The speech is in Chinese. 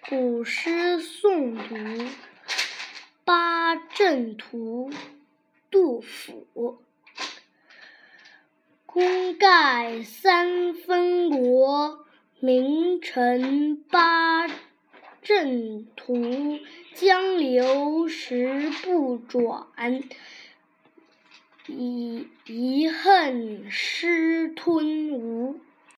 古诗诵读《八阵图》杜甫。功盖三分国，名成八阵图。江流石不转，遗恨失吞吴。